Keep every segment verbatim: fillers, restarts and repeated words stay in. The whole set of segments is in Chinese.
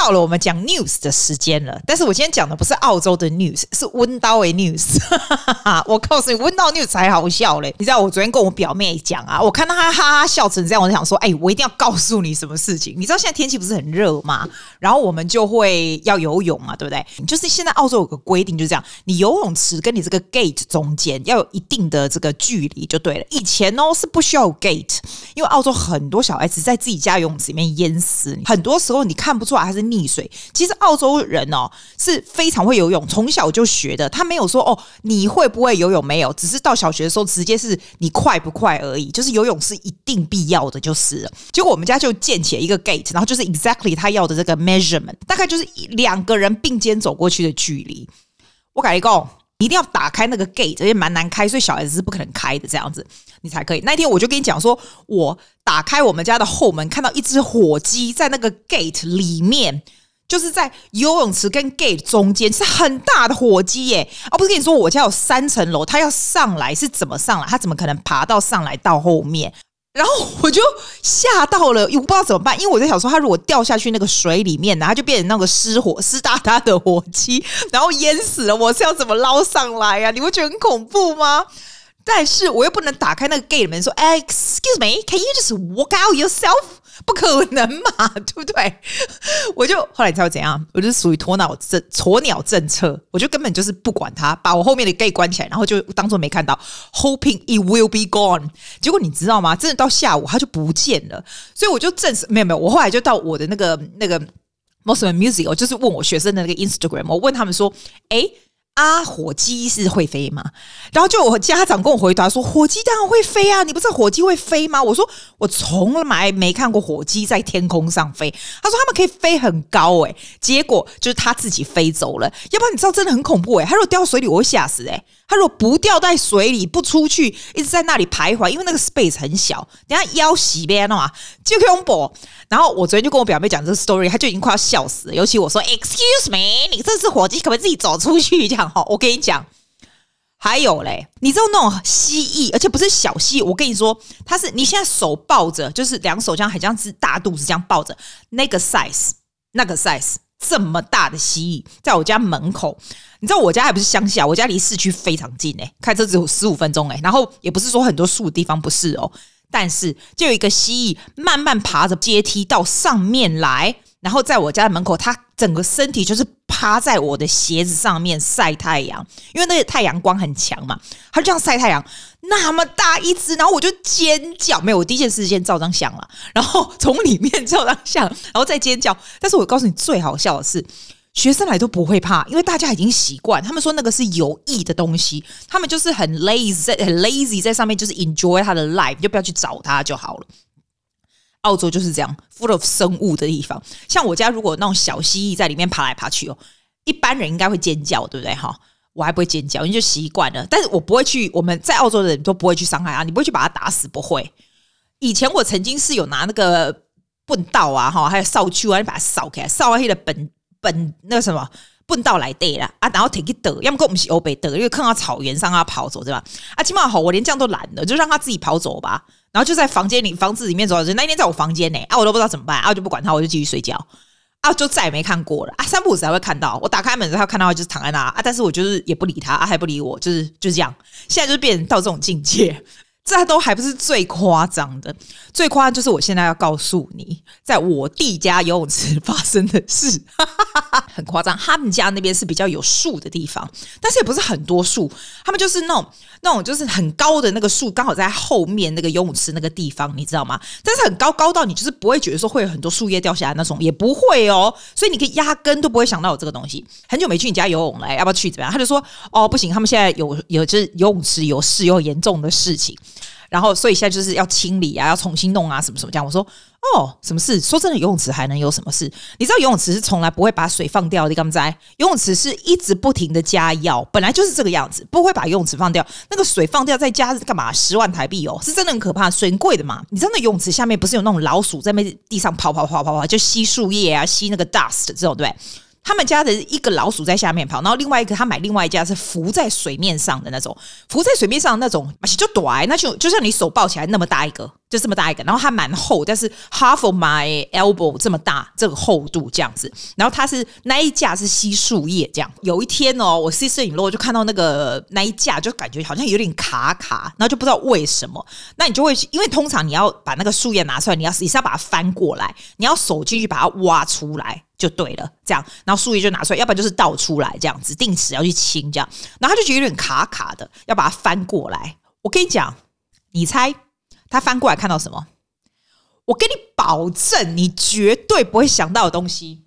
到了我們講 news 的時間了，但是我今天講的不是澳洲的 news， 是溫刀的 news。我告訴你，溫刀 news 才好笑嘞！你知道我昨天跟我表妹講啊，我看到她哈哈笑成這樣，我就想說，哎、欸，我一定要告訴你什麼事情。你知道現在天氣不是很熱嗎？然後我們就會要游泳嘛，對不對？就是現在澳洲有個規定，就是這樣，你游泳池跟你這個 gate 中間要有一定的這個距離就對了。以前哦是不需要有 gate， 因為澳洲很多小孩子在自己家游泳池裡面淹死，很多時候你看不出來他是溺水。其實澳洲人哦是非常會游泳，從小就學的。他沒有說哦你會不會游泳，沒有，只是到小學的時候直接是你快不快而已。就是游泳是一定必要的就是了。結果我們家就建起了一個 gate， 然後就是 exactly 他要的這個 measurement， 大概就是兩個人並肩走過去的距離。我跟你講，你一定要打開那個 gate， 而且蠻難開，所以小孩子是不可能開的，這樣子你才可以。那天我就跟你講說，我打開我們家的後門，看到一隻火雞在那個 gate 裡面，就是在游泳池跟 gate 中間，是很大的火雞耶！啊，不是跟你說我家有三層樓，他要上來是怎麼上來？他怎麼可能爬到上來到後面？然後我就嚇到了，又不知道怎麼辦，因為我在想說，他如果掉下去那個水裡面，然後就變成那個失火、濕噠噠的火雞，然後淹死了，我是要怎麼撈上來啊？你會覺得很恐怖嗎？但是我又不能打開那個 gate 門說 ，Excuse me, can you just walk out yourself？ 不可能嘛，對不對？我就後來你知道怎樣？我就是屬於鴕鳥政鴕鳥政策，我就根本就是不管它，把我後面的 gate 關起來，然後就當作沒看到 ，hoping it will be gone。結果你知道嗎？真的到下午它就不見了，所以我就證實沒有沒有。我後來就到我的那個那個 Mosman Music， 我就是問我學生的那個 Instagram， 我問他們說，哎。啊，火雞是會飛嗎？然後就我家長跟我回答說，火雞當然會飛啊！你不知道火雞會飛嗎？我說我從來沒看過火雞在天空上飛。他說他們可以飛很高誒、欸，結果就是他自己飛走了。要不然你知道真的很恐怖誒、欸，他如果掉水裡我會嚇死誒、欸。他如果不掉在水裡不出去，一直在那裡徘徊，因為那個 space 很小，等一下腰洗邊了嘛，就恐怖。然後我昨天就跟我表妹講這個 story， 她就已經快要笑死了。尤其我說 Excuse me， 你這隻火雞可不可以自己走出去？這樣哈，我跟你講，還有嘞，你知道那種蜥蜴，而且不是小蜥蜴，我跟你說，它是你現在手抱着，就是兩手這樣，很像是大肚子這樣抱着，那個 size， 那個 size。這麼大的蜥蜴在我家門口，你知道我家還不是鄉下，我家離市區非常近哎，開車只有十五分鐘哎，然後也不是說很多樹的地方，不是哦，但是就有一個蜥蜴慢慢爬着階梯到上面來，然後在我家的門口，它整個身體就是趴在我的鞋子上面曬太陽，因為那個太陽光很強嘛，它就這樣曬太陽，那麼大一隻，然後我就尖叫，沒有，我第一件事先照張相了，然後從裡面照張相，然後再尖叫。但是我告訴你最好笑的是，學生來都不會怕，因為大家已經習慣，他們說那個是有益的東西，他們就是很 lazy 很 lazy 在上面就是 enjoy 他的 life， 你就不要去找他就好了。澳洲就是這樣 full of 生物的地方，像我家如果有那種小蜥蜴在裡面爬來爬去哦，一般人應該會尖叫，對不對哈？我還不會尖叫，因為就習慣了。但是我不會去，我們在澳洲的人都不會去傷害它，你不會去把它打死，不會。以前我曾經是有拿那個畚道啊，哈，還有掃帚啊，你把它掃開來，掃完那個本本那個什麼畚道來對啦啊，然後提去倒，要麼跟我們是歐北倒，因為看到草原上它跑走，對吧？啊，起碼好，我連這樣都懶了，就讓它自己跑走吧。然後就在房間裡，房子裡面走，那一天在我房間呢，啊，我都不知道怎麼辦，啊，我就不管他，我就繼續睡覺，啊，就再也沒看過了，啊，三不五時才會看到，我打開門之後看到他就是躺在那，啊，但是我就是也不理他，啊，還不理我，就是就是這樣，現在就是變成到這種境界。這都還不是最誇張的，最誇張就是我現在要告訴你，在我弟家游泳池發生的事，很誇張。他們家那邊是比較有樹的地方，但是也不是很多樹，他們就是那種那種就是很高的那個樹，剛好在後面那個游泳池那個地方，你知道嗎？但是很高，高到你就是不會覺得說會有很多樹葉掉下來那種，也不會哦。所以你可以壓根都不會想到有這個東西。很久沒去你家游泳了，要不要去？怎麼樣？他就說哦，不行，他們現在有有就是游泳池有事，有嚴重的事情。然後，所以現在就是要清理啊，要重新弄啊，什麼什麼這樣。我說，哦，什麼事？說真的，游泳池還能有什麼事？你知道游泳池是從來不會把水放掉的，你敢不知？游泳池是一直不停的加藥，本來就是這個樣子，不會把游泳池放掉。那個水放掉再加是幹嘛？十萬台幣哦，是真的很可怕，水很貴的嘛。你知道那游泳池下面不是有那種老鼠在那地上跑跑跑跑跑，就吸樹葉啊，吸那個 dust 這種，對不對？他們家的一個老鼠在下面跑，然後另外一個他買另外一家是浮在水面上的那種，浮在水面上的那種就短，那就就像你手抱起來那麼大一個， 就這麼大一個，然後它蠻厚，但是 half of my elbow 這麼大，這個厚度這樣子。然後它是那一架是吸樹葉這樣。有一天哦，我 sister-in-law 就看到那個那一架，就感覺好像有點卡卡，然後就不知道為什麼。那你就會，因為通常你要把那個樹葉拿出來，你要你是要把它翻過來，你要手進去把它挖出來就對了，這樣。然後樹葉就拿出來，要不然就是倒出來這樣子，定時要去清這樣。然後他就覺得有點卡卡的，要把它翻過來。我跟你講，你猜？他翻過來看到什麼？我跟你保證，你絕對不會想到的東西。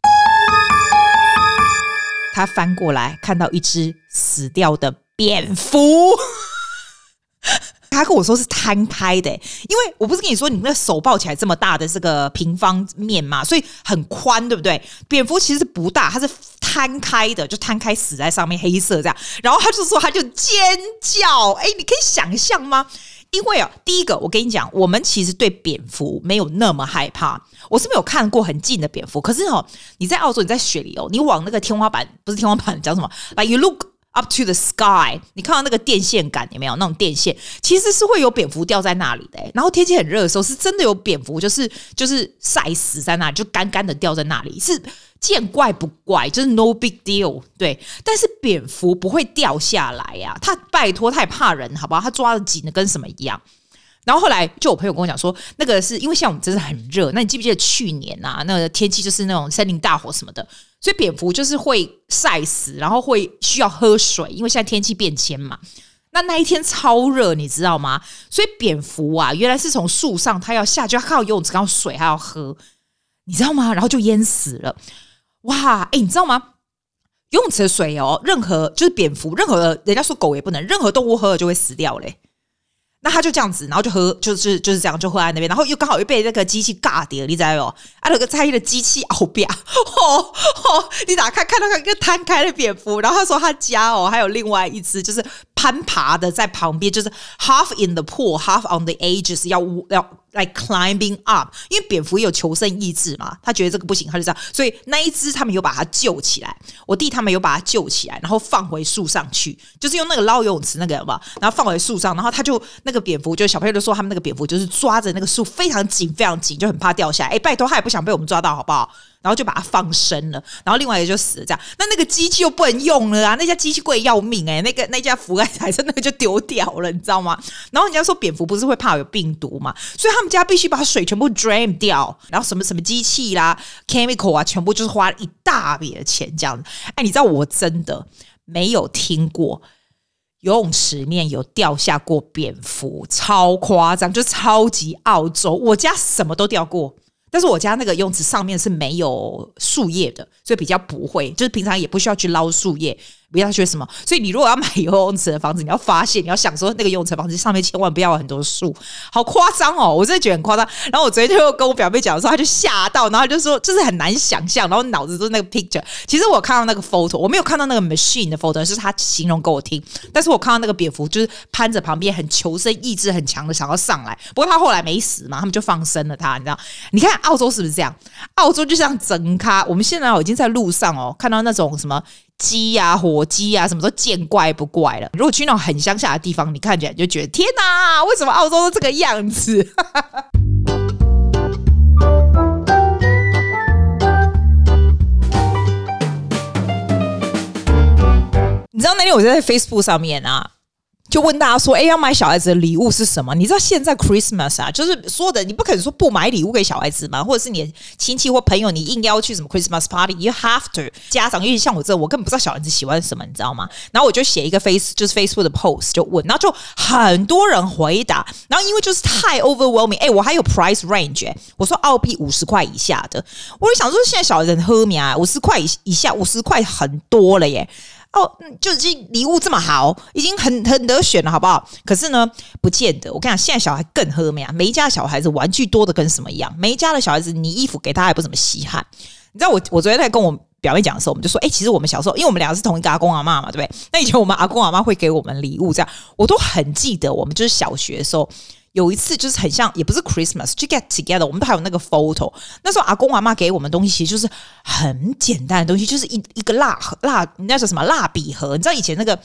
他翻過來看到一隻死掉的蝙蝠。他跟我說是攤開的，因為我不是跟你說你那個手抱起來這麼大的這個平方面嘛，所以很寬，對不對？蝙蝠其實不大，它是攤開的，就攤開死在上面，黑色這樣。然後他就說，他就尖叫，哎，你可以想象嗎？因為啊，第一個我跟你講，我們其實對蝙蝠沒有那麼害怕。我是沒有看過很近的蝙蝠，可是哦，你在澳洲，你在雪裡哦，你往那個天花板，不是天花板，講什麼？來、like、，you look up to the sky， 你看到那個電線桿有沒有？那種電線其實是會有蝙蝠掉在那裡的。然後天氣很熱的時候，是真的有蝙蝠，就是就是曬死在那裡，就乾乾的掉在那裡，是見怪不怪，就是 no big deal。對，但是蝙蝠不會掉下來呀、啊，他拜托，他也怕人，好不好？他抓得緊的跟什麼一樣。然後後來就我朋友跟我講說，那個是因為像我們真的很熱，那你記不記得去年啊，那個天氣就是那種森林大火什麼的，所以蝙蝠就是會曬死，然後會需要喝水，因為現在天氣變遷嘛。那那一天超熱，你知道嗎？所以蝙蝠啊，原來是從樹上，它要下去，它看到游泳池，看到水，它要喝，你知道嗎？然後就淹死了。哇，哎，你知道嗎？游泳池的水哦，任何就是蝙蝠，任何人家說狗也不能，任何動物喝了就會死掉嘞。那他就這樣子，然後就喝，就是就是這樣，就喝在那邊，然後又剛好又被那個機器尬掉，你知道嗎？啊，那個在意的機器後邊，哦哦，你打開看到一個攤開的蝙蝠，然後他說他家哦還有另外一隻，就是攀爬的在旁邊，就是 half in the pool, half on the edges， 要要 like climbing up， 因為蝙蝠也有求生意志嘛，他覺得這個不行，他就這樣，所以那一隻他們有把它救起來，我弟他們有把它救起來，然後放回樹上去，就是用那個撈游泳池那個有沒有，然後放回樹上，然後他就那個蝙蝠，就小朋友就說他們那個蝙蝠就是抓着那個樹非常緊非常緊，就很怕掉下來，哎，拜託他也不想被我們抓到好不好？然後就把它放生了，然後另外一個就死了，這樣。那那個機器又不能用了啊，那家機器貴要命哎、欸，那個那家福愛海參那個就丟掉了，你知道嗎？然後人家說蝙蝠不是會怕有病毒嘛，所以他們家必須把水全部 drain 掉，然後什麼什麼機器啦 chemical 啊，全部就是花了一大筆的錢這樣子。哎，你知道我真的沒有聽過游泳池裡面有掉下過蝙蝠，超誇張，就超級澳洲。我家什麼都掉過。但是我家那個游泳池上面是沒有樹葉的，所以比較不會，就是平常也不需要去撈樹葉，不要學什麼。所以你如果要買游泳池的房子，你要發現，你要想說那個游泳池的房子上面千萬不要有很多樹，好誇張哦！我真的覺得很誇張。然後我昨天就跟我表妹講的時候，她就嚇到，然後就說就是很難想象，然後腦子都是那個 picture。其實我看到那個 photo， 我沒有看到那個 machine 的 photo， 是她形容給我聽。但是我看到那個蝙蝠就是攀着旁邊，很求生意志很強的想要上來。不過他後來沒死嘛，他們就放生了他，你知道？你看澳洲是不是這樣？澳洲就像整咖，我們現在已經在路上哦，看到那種什麼雞啊、火雞啊，什麼都見怪不怪了。如果去那種很鄉下的地方，你看起來就覺得天哪，為什麼澳洲都這個樣子？你知道那天我在 Facebook 上面啊，就問大家說，哎，要買小孩子的禮物是什麼？你知道現在 Christmas 啊，就是說的，你不可能說不買禮物給小孩子嘛，或者是你的親戚或朋友，你硬要去什麼 Christmas party，you have to。家長因為像我這，我根本不知道小孩子喜歡什麼，你知道嗎？然後我就寫一個 face，就是 Facebook 的 post 就問，然後就很多人回答，然後因為就是太 overwhelming， 哎，我還有 price range， 哎，我說澳幣五十塊以下的，我就想說現在小孩子很喝命啊，五十塊以以下，五十塊很多了耶。哦，就已經禮物這麼好，已經很很得選了，好不好？可是呢，不見得。我跟你講，現在小孩更喝命啊！每一家的小孩子玩具多的跟什麼一樣，每一家的小孩子你衣服給他還不怎麼稀罕。你知道我我昨天在跟我表妹講的時候，我們就說，哎、欸，其實我們小時候，因為我們兩個是同一個阿公阿嬤嘛，對不對？那以前我們阿公阿嬤會給我們禮物，這樣我都很記得。我們就是小學的時候。有一次就是很像，也不是 Christmas， 就 get together， 我們都還有那個 photo。那時候阿公阿嬤給我們東西，其實就是很簡單的東西，就是一一個蠟蠟，那叫什麼蠟筆盒？你知道以前那個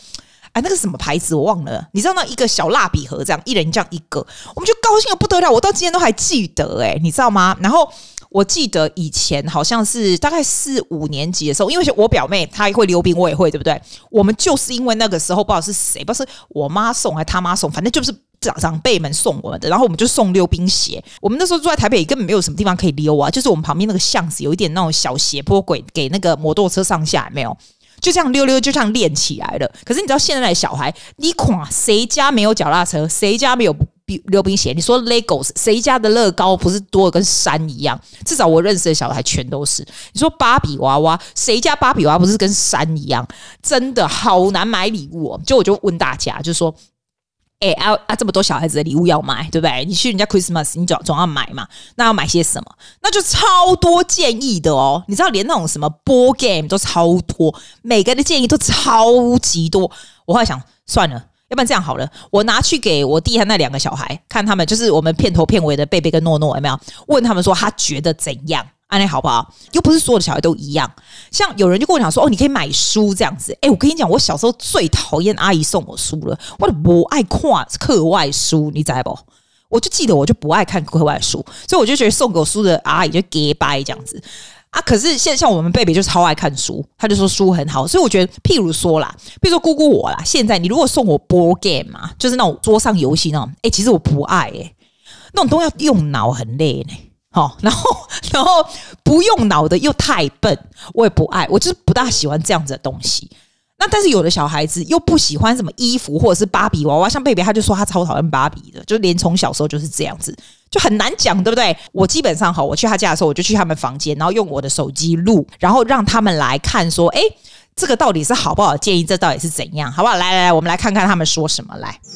哎，那個什麼牌子我忘了，你知道那一個小蠟筆盒這樣，一人這樣一個，我們就高興得不得了，我到今天都還記得哎、欸，你知道嗎？然後我記得以前好像是大概四五年級的時候，因為我表妹她會溜冰，我也會，對不對？我們就是因為那個時候不知道是誰，不知道是我媽送還是他媽送，反正就是長長輩們送我們的，然後我們就送溜冰鞋。我們那時候住在台北，根本沒有什麼地方可以溜啊，就是我們旁邊那個巷子有一點那種小斜坡軌，給那個摩托車上下，有沒有？就這樣溜溜，就這樣練起來了。可是你知道現在的小孩，你看誰家沒有腳踏車，誰家沒有溜冰鞋？你說 Legos， 誰家的樂高不是多的跟山一樣？至少我認識的小孩全都是。你說芭比娃娃，誰家芭比娃娃不是跟山一樣？真的好難買禮物哦。就我就問大家，就說。哎、欸、啊啊！這麼多小孩子的禮物要買，對不對？你去人家 Christmas， 你總總要買嘛。那要買些什麼？那就超多建議的哦。你知道，連那種什麼 board game 都超多，每個人的建議都超級多。我後來想，算了，要不然這樣好了，我拿去給我弟和那兩個小孩看，他們就是我們片頭片尾的貝貝跟諾諾，有沒有？問他們說他覺得怎樣？安利好不好？又不是所有的小孩都一樣。像有人就跟我講說，哦，你可以買書這樣子。哎，我跟你講，我小時候最討厭阿姨送我書了，我都不愛看課外書，你知道不？我就記得我就不愛看課外書，所以我就覺得送給我書的阿姨就假掰這樣子啊。可是現在像我們貝貝就超愛看書，他就說書很好，所以我覺得，譬如說啦，譬如說姑姑我啦，現在你如果送我 board game 嘛，就是那種桌上遊戲那種，哎，其實我不愛哎、欸，那種都要用腦，很累呢、欸。哦，然後，然後不用腦的又太笨，我也不愛，我就是不大喜歡這樣子的東西。那但是有的小孩子又不喜歡什麼衣服或者是芭比娃娃，像貝貝他就說他超討厭芭比的，就連從小時候就是這樣子，就很難講，對不對？我基本上哈，我去他家的時候，我就去他們房間，然後用我的手機錄，然後讓他們來看說，哎，這個到底是好不好的建議？這到底是怎樣？好不好？來來來，我們來看看他們說什麼來。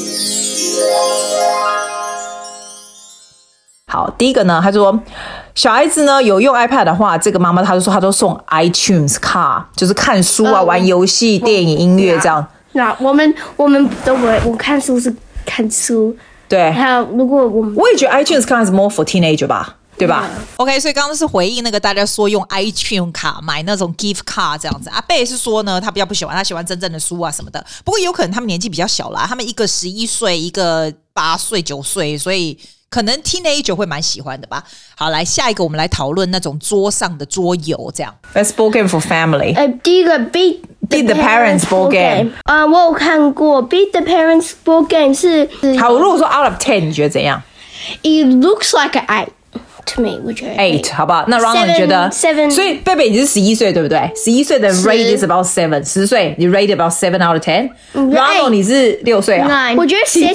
好，第一個呢，他說小孩子呢有用 iPad 的話，這個媽媽她就說她都送 iTunes Car， 就是看書啊、呃、玩遊戲、電影、音樂這樣。 那我們我們都不會，我看書是看書。對，還有如果我們我也覺得 iTunes Car 是 more for teenager 吧，對吧、嗯、？OK， 所以剛剛是回應那個大家說用 iTunes 卡買那種 gift card 這樣子。阿貝是說呢，他比較不喜歡，他喜歡真正的書啊什麼的。不過有可能他們年紀比較小啦，他們一個十一歲，一個八歲、九歲，所以。可能 teenager 會蠻喜歡的吧。好，來下一個，我們來討論那種桌上的桌遊，這樣。Best board game for family。呃， 第一個 Beat Beat the Parents board game。 啊，我有看過 Beat the Parents board game 是。好， 如果說 out of ten， 你覺得怎樣 ？It looks like an eight to me， 我覺得 eight， 好不好？那 Ronald 你覺得 seven？ 所以貝貝你是十一歲對不對？十一歲的 rate is about seven， 十歲你 rate about seven out of ten。Ronald 你是六歲啊 ？Nine， 我覺得 six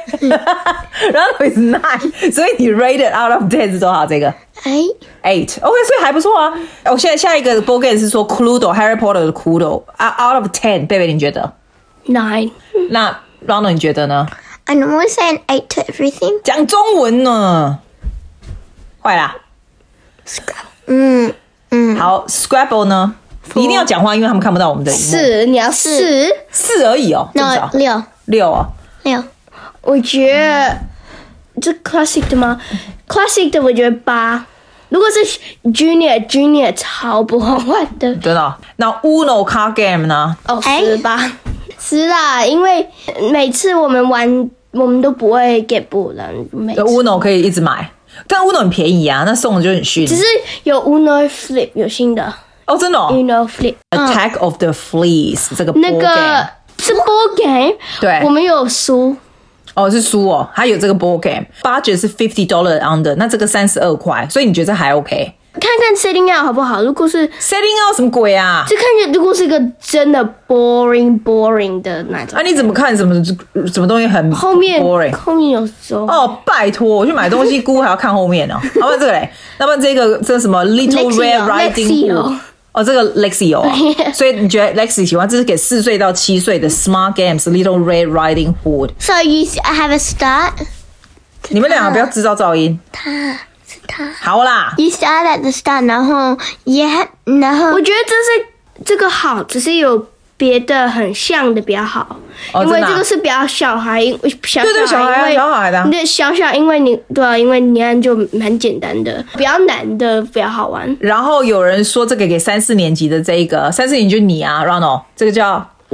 nine。Ronald is nine， 所以你 rated out of ten 是多少？這個 eight eight， OK， 所以還不錯啊。我現在下一個 board game 是說 Cluedo Harry Potter 的 Cluedo out of ten， 貝貝你覺得 nine？ 那 Ronald 你覺得呢 ？I normally say an eight to everything。 講中文呢？壞啦， 嗯嗯， 好 ，Scrabble 呢？你一定要講話，因為他們看不到我們的螢幕。 四，你要四四而已哦， 那六六哦， 六。我覺得、嗯、這 classic 的嗎 ？classic 的我覺得八。如果是 junior junior 超不好玩的。 真的、哦？那 Uno card game 呢？ 哦，十吧，十啦，因為每次我們玩，我們都不會 get bored 的。 Uno 可以一直買。但 Uno 很便宜啊，那送的就很遜。 只是有 Uno Flip 有新的哦，真的哦。 Uno Flip、嗯、 Attack of the Fleas 這個 board game 那個是 board game， 對，我們有書。 哦，是書哦，還有這個 board game， budget 是 fifty dollars under， 那這個三十二塊，所以你覺得這還 OK？ 看看 setting out 好不好？如果是 setting out 什麼鬼啊？ 這看起來如果是一個真的 boring boring 的那種。 啊，你怎麼看什麼什麼東西很 boring？ 後面後面有時候哦，拜託，我去買東西，姑還要看後面哦。要不然這個嘞？要不然這個這個什麼 Little Red Riding Hood？哦，這個 Lexi 有、哦，所以你覺得 Lexi 喜歡？這是給四歲到七歲的 Smart Games Little Red Riding Hood。 So you have a start？ 你們兩個不要製造噪音。 他。他好啦 ，You start at the start， 然後 yeah， 然後我覺得這是這個好，只是有別的很像的比較好，哦、因為這個是比較小孩，小小孩，對對小孩，小孩的，對小小，因為你對啊，因為你看就很簡單的，比較難的比較好玩。 然後有人說這個給三四年級的這一個三四年級就你啊 ，Ronald， 這個叫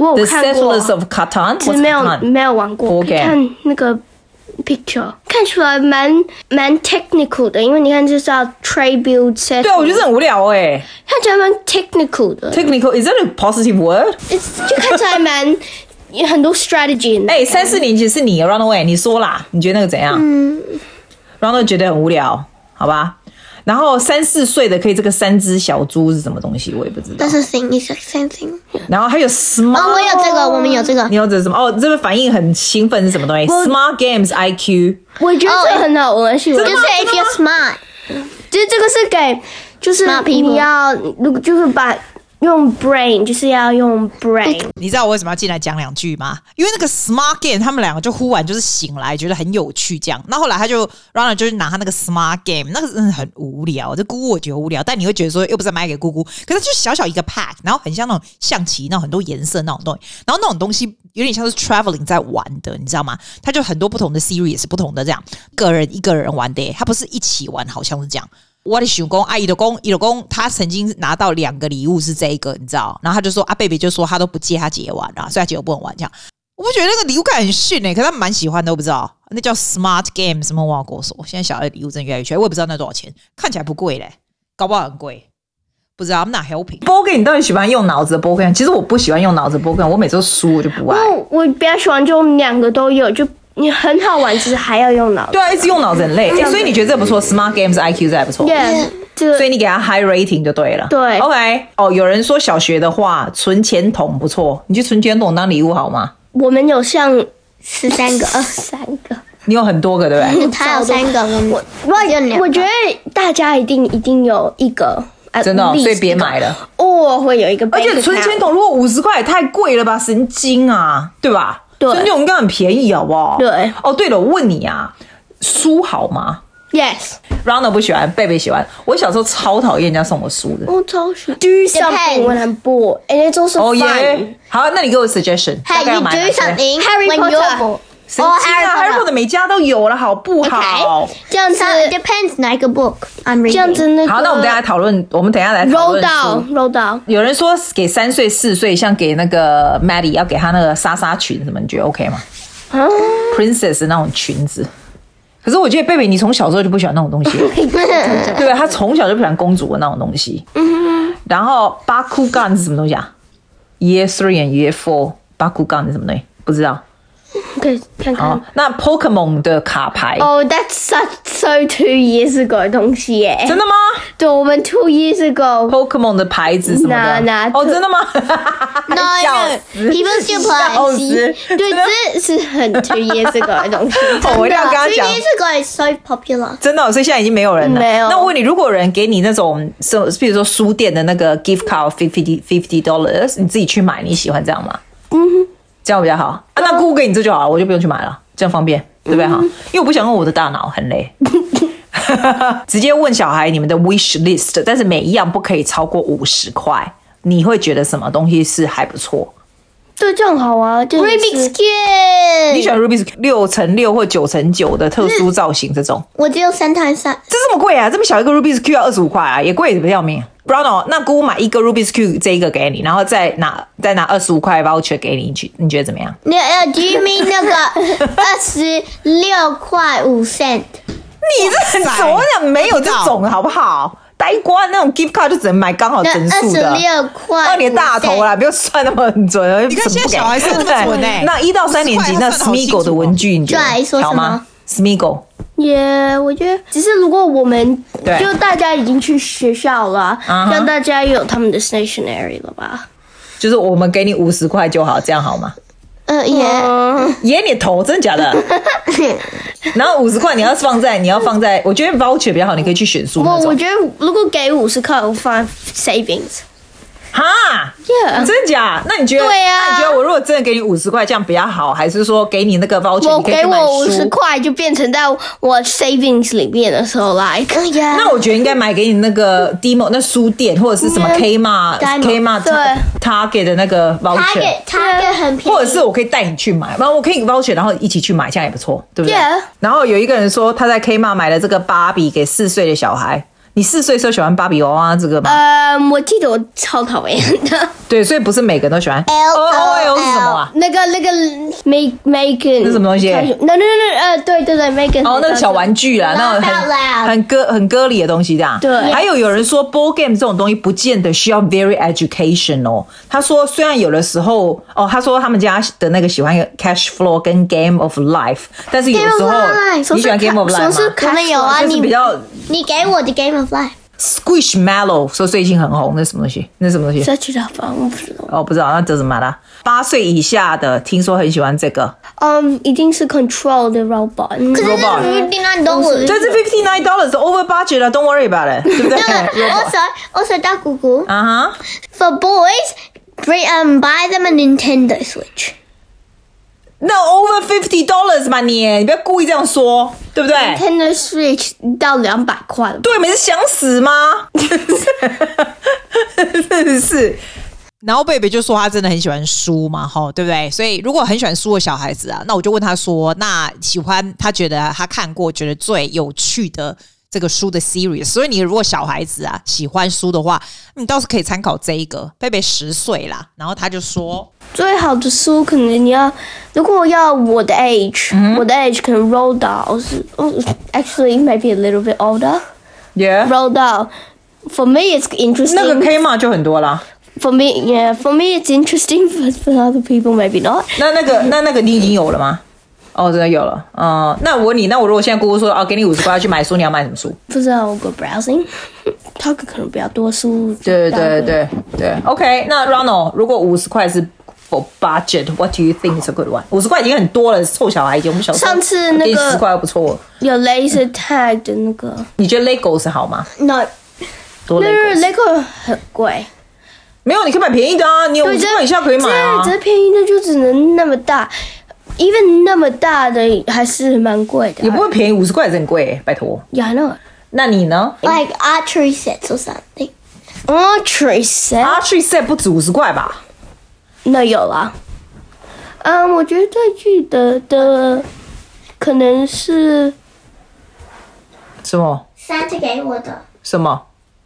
我有看過 The Settlers of Catan， 只是沒有沒有玩過。看那個 picture， 看出來蠻蠻 technical 的，因為你看這是要 trade build set。 對啊，我覺得很無聊哎、欸。 看起來蠻 technical 的。 Technical is that a positive word？ 就看起來蠻有很多 strategy。哎， 三四年級是你 Runaway， 你說啦，你覺得那個怎樣？嗯 ，Runaway 覺得很無聊，好吧？然後三四歲的可以這個三隻小豬是什麼東西，我也不知道。 但是 thing is same thing。 然後還有 smart， 哦，我有這個，我們有這個。 你有這個什麼？哦，這個反應很興奮是什麼東西 ？Smart Games I Q。 我覺得這個很好玩，是就是 if you're smart， 就是這個是給就是你要如果就是把。用 brain 就是要用 brain， 你知道我為什麼要進來講兩句嗎？因為那個 smart game 他們兩個就忽然就是醒來，覺得很有趣這樣。那後來他就 Ronald 就是拿他那個 smart game， 那個真的很無聊。這姑姑我覺得無聊，但你會覺得說又不是買給姑姑，可是就小小一個 pack， 然後很像那種象棋那種很多顏色那種東西，然後那種東西有點像是 traveling 在玩的，你知道嗎？他就很多不同的 series 也是不同的這樣，個人一個人玩的，他不是一起玩，好像是這樣。我的想說啊，伊就說伊就說他曾經拿到兩個禮物是這一個，你知道？然後他就說啊，貝貝就說他都不借他姐玩啊，所以他姐又不能玩這樣。我不覺得那個禮物感很遜誒、欸，可是他們蠻喜歡的，我不知道那叫 Smart Game 什麼我要跟我說。現在小孩的禮物真的越來越缺，我也不知道那多少錢，看起來不貴嘞，搞不好很貴，不知道。I'm not helping。board game 你到底喜歡用腦子的 board game？其實我不喜歡用腦子的 board game，我每次都輸，我就不愛。 我我比較喜歡就兩個都有就。你很好玩，其實還要用腦子。 對啊，一直用腦子很累、欸。所以你覺得這不錯 ？Smart Games I Q 這還不錯。 Yeah， 所以你給他 high rating 就對了。 對 ，OK。哦，有人說小學的話存錢筒不錯，你去存錢筒當禮物好嗎？ 我們有像十三個、二十三個， 你有很多個對不對？ 他有三個，我我我覺得大家一定一定有一個。 真的、哦，所以別買了。 哦，會有一個， 而且存錢筒如果五十塊也太貴了吧，神經啊，對吧？存錢筒應該很便宜，好不好？ 對。 哦，對了，我問你啊，書好嗎 ？Yes。Ronald 不喜歡，貝貝喜歡。我小時候超討厭人家送我書的。 我超喜歡。Do something when I'm bored, and it's also fun. 哦耶。 好，那你給我 suggestion。 Hey, you do something when you're bored. 神經啊 ，Harry Potter 每家都有了，好不好？ Okay. 這樣子 depends 哪一個 book I'm reading。這樣子那個。好， 那我們等一下討論，我們等一下來討論書。 roll down，roll down。有人說給三歲、四歲，像給那個 Maddie 要給他那個紗紗裙什麼，你覺得 OK 嗎？啊 ？Princess 那種裙子。可是我覺得貝貝，你從小時候就不喜歡那種東西，對吧？他從小就不喜歡公主的那種東西。嗯。然後 Bakugan 是什麼東西啊 ？Year Three and Year Four Bakugan 是什麼東西？不知道。 可以看看。 哦、那 Pokemon 的卡牌哦、oh, ，That's such so two years ago 的東西耶。 真的嗎？ 對，我們 two years ago Pokemon 的牌子什麼的。 Nah, nah, 哦，真的嗎 ？No, no. People still play. 對，這是很 two years ago 的東西。 哦，我一定要跟他講。 two years ago is so popular。 真的、哦，所以現在已經沒有人了。 沒有。 那我問你，如果有人給你那種，比如說書店的那個 gift card fifty fifty dollars， 你自己去買，你喜歡這樣嗎？嗯哼。這樣比較好啊，那姑姑給你這就好了，我就不用去買了，這樣方便，對不對哈？嗯、因為我不想用我的大腦，很累。直接問小孩你們的 wish list， 但是每一樣不可以超過五十塊。你會覺得什麼東西是還不錯？ 對，這樣好啊。Rubik's Cube， 你喜歡 Rubik's Cube 六乘六或九乘九的特殊造型這種？ 我只有三乘三。 這這麼貴啊？這麼小一個 Rubik's Cube 要二十五塊啊，也貴得要命。Bruno， 那姑姑買一個 Rubik's Cube 這一個給你，然後再拿再拿二十五塊 voucher 給你，你你覺得怎麼樣？ 你呃，Do you mean 那個二十六塊五 cent？ 你這很怎麼講？沒有這種好不好？呆瓜那種 gift card 就只能買剛好整數的。二十六塊，二你的大頭啦，不要算那麼很準。 你看現在小孩算那麼準哎。 那一到三年級那 Smeagol 的文具，你覺得好嗎 ？Smeagol。 也、yeah, 我覺得，只是如果我們就大家已經去學校了，讓大家有他們的 stationery 了吧？ 就是我們給你五十塊就好，這樣好嗎？ 呃，也也你頭真的假的？然後五十塊你要放在你要放在，我覺得 voucher 比較好，你可以去選書。 我我覺得如果給五十塊，我放 savings。 哈 ，Yeah， 真的假？那你覺得？ 對啊， 那你覺得我如果真的給你五十塊，這樣比較好，還是說給你那個 voucher， 你可以去買書？ 我給我五十塊就變成在我 savings 裡面的時候來。Like, yeah. 那我覺得應該買給你那個 demo 那書店或者是什麼 Kmart、yeah. Kmart 對 Target 的那個 voucher， Target 很便宜， 或者是我可以帶你去買，然後我可以 voucher， 然後一起去買，這樣也不錯，對不對？ Yeah. 然後有一個人說他在 Kmart 買了這個芭比給四歲的小孩。你四歲時候喜歡芭比娃娃這個嗎？ 呃，我記得我超討厭的。 對，所以不是每個人都喜歡。L O L 是什麼啊？ 那個那個 Make Megan 是什麼東西？ 那那那呃，對對對 ，Megan。哦， 那個小玩具啊，那種很很歌很歌裡的東西這樣。 對。 還有有人說 board game 這種東西不見得需要 very educational。他說雖然有的時候哦，他說他們家的那個喜歡 Cash Flow 跟 Game of Life， 但是有的時候你喜歡 Game of Life 嗎？ 可能有啊， 你比較你給我的 Game of Life。Squishmallow 說最近很紅，那是什麼東西？那是什麼東西？ 社區的房，我不知道。 哦，不知道，那這是什麼啦？八歲以下的聽說很喜歡這個。 嗯，一定是 Control 的 robot。可是 fifty-nine dollars， 這是 fifty-nine dollars over budget 了 ，Don't worry about it， 對不对 ？Also, also 大姑姑。 啊哈。 For boys, bring um buy them a Nintendo Switch。 那 over fifty dollars 嘛你，你不要故意這樣說，對不對 ？Nintendo Switch 到兩百塊了。 對，你是想死嗎？真是。 然後貝貝就說他真的很喜歡書嘛，吼，對不對？所以如果很喜歡書的小孩子啊，那我就問他說，那喜歡他覺得他看過覺得最有趣的這個書的 series， 所以你如果小孩子啊喜歡書的話，你倒是可以參考這一個。貝貝十歲啦，然後他就說最好的書可能你要，如果要我的 age，、嗯、我的 age 可能 Roald Dahl 是 actually maybe a little bit older。Yeah. Roald Dahl for me it's interesting。 那個 K 嘛就很多啦。 For me, yeah, for me it's interesting, but for other people maybe not。 那那個那那個你已經有了嗎？哦，真的有了。嗯，那我問你，那我如果現在姑姑說哦，給你五十塊去買書，你要買什麼書？ 不知道，我 go browsing。他可能比較多書。 對對對對 OK， 那 Ronald， 如果五十塊是 for budget，what do you think is a good one？ 五十塊已經很多了，臭小孩已經我們小時候。 上次那個十塊不錯。 有 laser tag 的那個。 你覺得 Lego 是好嗎 ？No， 多 Lego。 Lego 很貴。 沒有，你可以買便宜的啊！你五十塊以下可以買啊。 這這便宜的就只能那麼大 ，even 那麼大的還是蠻貴的。 也不會便宜，五十塊也是很貴，拜託。 Yeah, I know. 那你呢 ？Like archery sets or something. Archery set. Archery set 不止五十塊吧？ 那有啦。嗯，我覺得最記得的可能是什麼 ？Santa 給我的。 什麼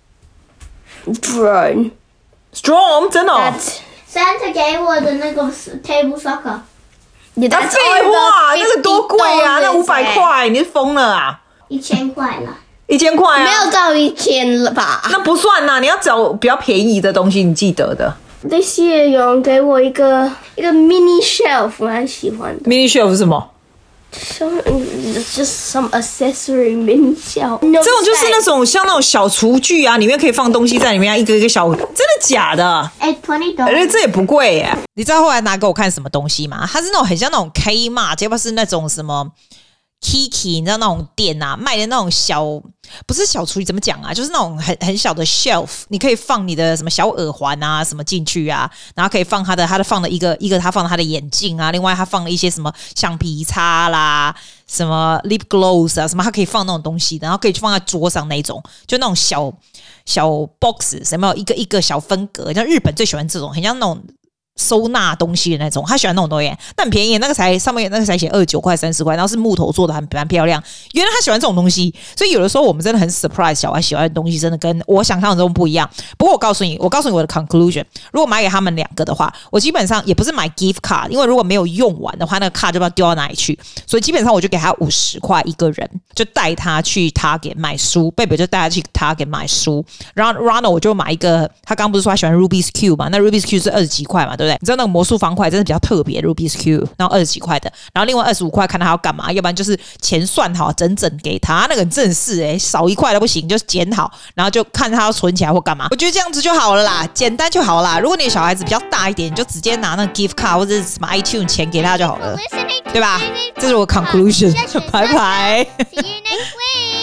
？Drone。Strong 真的、哦、 Santa 給我的那個 table soccer。 你的廢話，那個多貴啊！那五百塊，你是瘋了啊！ 一千塊啦， 一千塊啊， 沒有到一千了吧？ 那不算吶，你要找比較便宜的東西，你記得的。 This year 有人給我一個一個 mini shelf， 我很喜歡的。 Mini shelf 是什麼 ？Some just some accessory mini shelf。這種就是那種像那種小廚具啊，裡面可以放東西在裡面，一個一個小，真的假的？ 哎 ，twenty dollars， 而且這也不貴耶。 你知道後來拿給我看什麼東西嗎？它是那種很像那種 Kmart， 要不是那種什麼 Kiki， 你知道那種店啊，賣的那種小，不是小廚具，怎麼講啊？就是那種很很小的 shelf， 你可以放你的什麼小耳環啊什麼進去啊，然後可以放他的，他的放了一個一個，他放了他的眼鏡啊，另外他放了一些什麼橡皮擦啦，什麼 lip gloss 啊，什麼他可以放那種東西，然後可以放在桌上那種，就那種小小 box， 什麼一個一個小分隔，像日本最喜歡這種，很像那種收納東西的那種，他喜歡那種東西，但很便宜，那個才上面那個才寫二十九塊、三十塊，然後是木頭做的，很蠻漂亮。原來他喜歡這種東西，所以有的時候我們真的很 surprise， 小孩喜歡的東西真的跟我想象中不一樣。不過我告訴你，我告訴你我的 conclusion， 如果買給他們兩個的話，我基本上也不是買 gift card， 因為如果沒有用完的話，那個 card 就不知道丟到哪裡去，所以基本上我就給他五十塊一個人，就帶他去 Target 買書，貝貝就帶他去 Target 買書，然後 Ronald 我就買一個，他剛剛不是說他喜歡 Rubik's Cube 嘛？那 Rubik's Cube 是二十幾塊嘛，對不對？你知道那個魔術方塊真的比較特別 ，Rubik's Cube， 然後二十幾塊的，然後另外二十五塊看他要幹嘛，要不然就是錢算好整整給他，那個很正式哎、欸，少一塊都不行，就剪好，然後就看他要存起來或幹嘛。我覺得這樣子就好了啦，簡單就好啦。如果你的小孩子比較大一點，你就直接拿那個 gift card 或者是什麼 iTunes 錢給他就好了，對吧？這是我 conclusion，拜拜。See you next week.